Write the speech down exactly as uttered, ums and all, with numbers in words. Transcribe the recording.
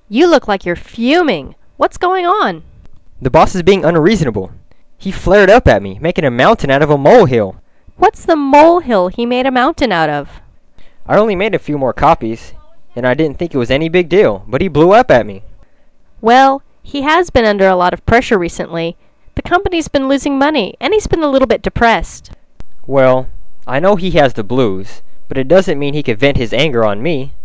You look like you're fuming. What's going on? The boss is being unreasonable. He flared up at me, making a mountain out of a molehill. What's the molehill he made a mountain out of? I only made a few more copies, and I didn't think it was any big deal, but he blew up at me. Well, he has been under a lot of pressure recently. The company's been losing money, and he's been a little bit depressed. Well, I know he has the blues, but it doesn't mean he could vent his anger on me.